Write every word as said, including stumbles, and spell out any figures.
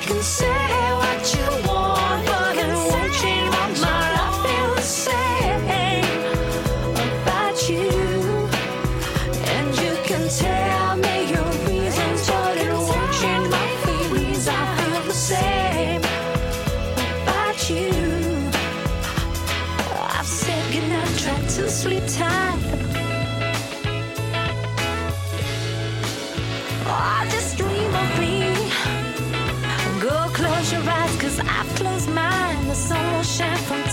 can say what you want, but it won't change my mind. I feel the same about you, and you can tell me your reasons, but it won't change my feelings. I feel the same about you. I've said goodnight, tried to sleep tight. Oh, just dream of me. Go close your eyes, cause I've closed mine. The sun will shine from